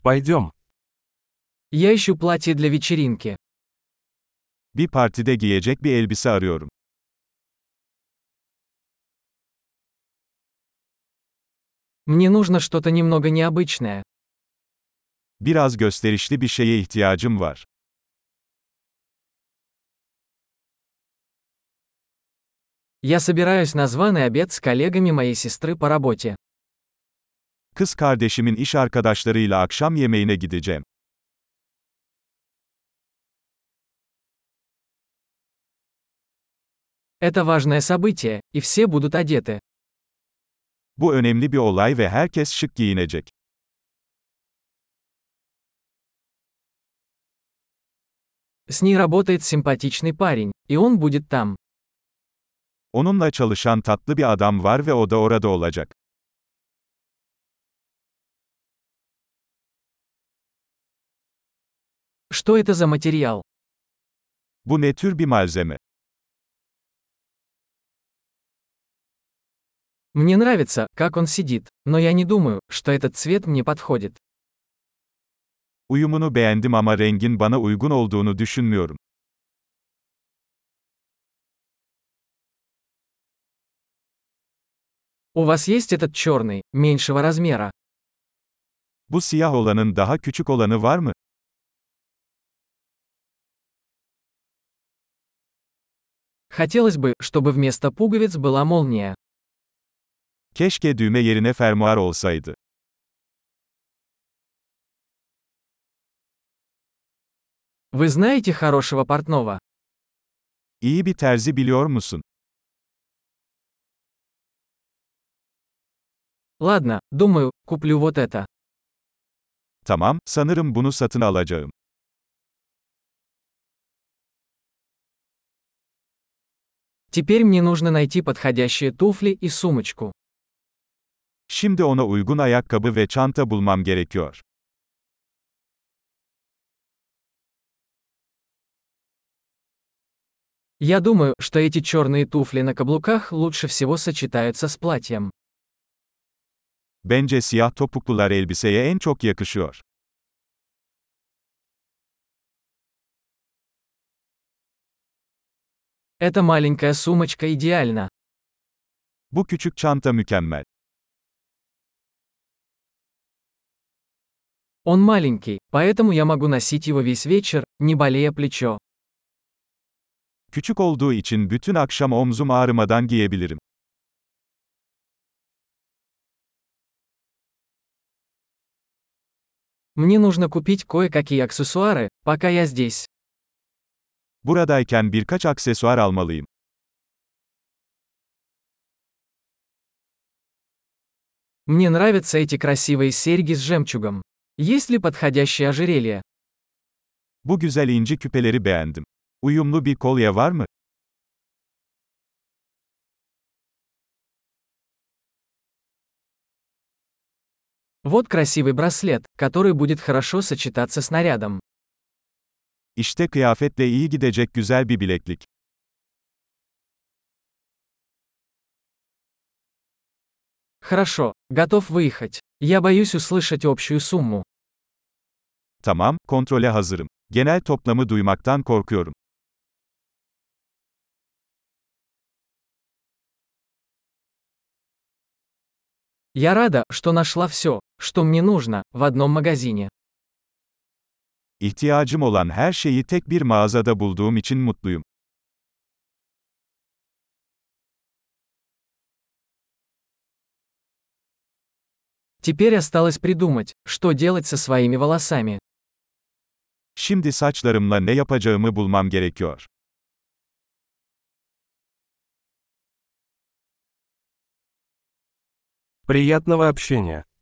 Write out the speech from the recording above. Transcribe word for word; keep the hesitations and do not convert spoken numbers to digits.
Пойдем. Я ищу платье для вечеринки. Bir partide giyecek bir elbise arıyorum. Мне нужно что-то немного необычное. Biraz gösterişli bir şeye ihtiyacım var. Я собираюсь на званый обед с коллегами моей сестры по работе. Kız kardeşimin iş arkadaşlarıyla akşam yemeğine gideceğim. Это важное событие, и все будут одеты. Bu önemli bir olay ve herkes şık giyinecek. С ней работает симпатичный парень, и он будет там. Onunla çalışan tatlı bir adam var ve o da orada olacak. Что это за материал? Bu ne tür bir malzeme? Мне нравится, как он сидит, но я не думаю, что этот цвет мне подходит. Uyumunu beğendim ama rengin bana uygun olduğunu düşünmüyorum. У вас есть этот черный, меньшего размера? Bu siyah olanın daha küçük olanı var mı? Хотелось бы, чтобы вместо пуговиц была молния. Keşke düğme yerine fermuar olsaydı. Вы знаете хорошего портного? İyi bir terzi biliyor musun? Ладно, думаю, куплю вот это. Tamam, sanırım bunu satın alacağım. Теперь мне нужно найти подходящие туфли и сумочку. Şimdi ona uygun ayakkabı ve çanta bulmam gerekiyor. Я думаю, что эти черные туфли на каблуках лучше всего сочетаются с платьем. Bence siyah topuklular elbiseye en çok yakışıyor. Эта маленькая сумочка идеальна. Bu küçük çanta mükemmel. Он маленький, поэтому я могу носить его весь вечер, не болея плечо. Küçük olduğu için bütün akşam omzum ağrımadan giyebilirim. Мне нужно купить кое-какие аксессуары, пока я здесь. Buradayken birkaç aksesuar almalıyım. Мне нравятся эти красивые серьги с жемчугом. Есть ли подходящее ожерелье? Bu güzel inci küpeleri beğendim. Uyumlu bir kolye var mı? Вот красивый браслет, который будет хорошо сочетаться с нарядом. İşte kıyafetle iyi gidecek güzel bir bileklik. Хорошо, готов выехать. Я боюсь услышать общую сумму. Tamam, kontrole hazırım. Genel toplamı duymaktan korkuyorum. Я рада, что нашла все, что мне нужно, в одном магазине. İhtiyacım olan her şeyi tek bir mağazada bulduğum için mutluyum. Теперь осталось придумать, что делать со своими волосами. Şimdi saçlarımla ne yapacağımı bulmam gerekiyor. Приятного общения.